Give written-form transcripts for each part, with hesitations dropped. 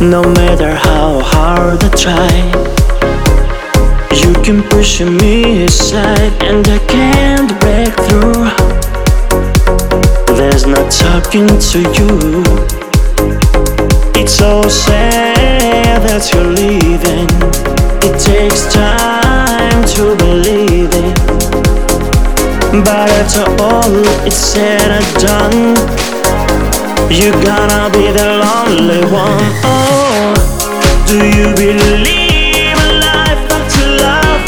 No matter how hard I try, you can push me aside and I can't break through. There's no talking to you. It's so sad that you're leaving. It takes time to believe it, but after all it's said and done, you're gonna be the lonely one. Oh, do you believe in life after love?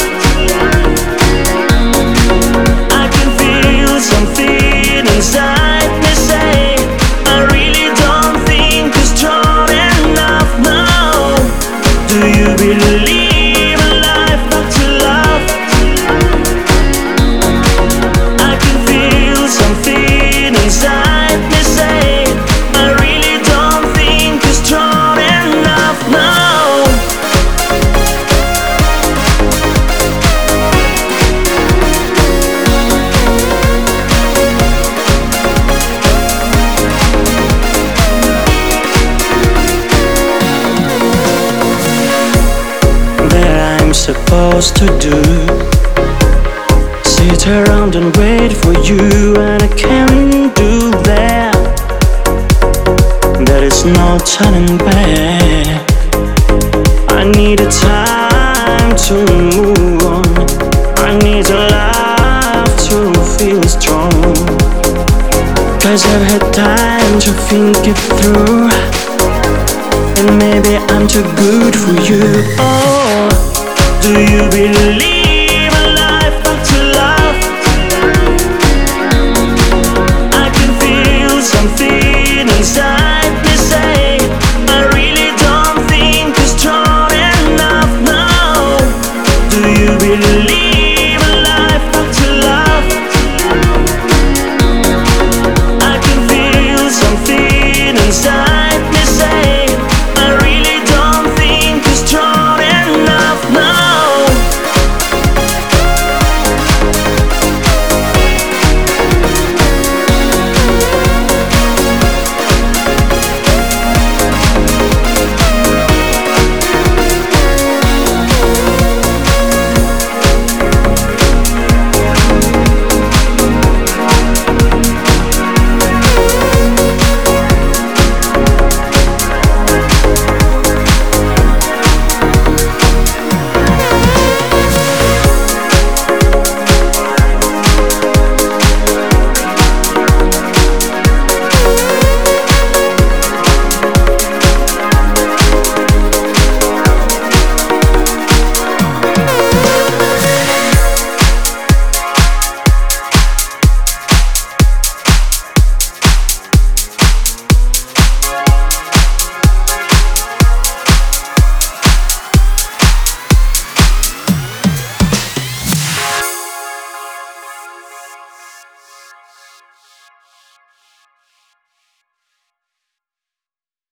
I can feel something inside me say, I really don't think you're strong enough now. Do you believe in life after love? I can feel something inside me say, I really don't think you're strong enough now. That I'm supposed to do, sit around and wait for you, and I can't do that. There is no turning back. I need a time to move on. I need a life to feel strong, 'cause I've had time to think it through, and maybe I'm too good for you. Oh, do you believe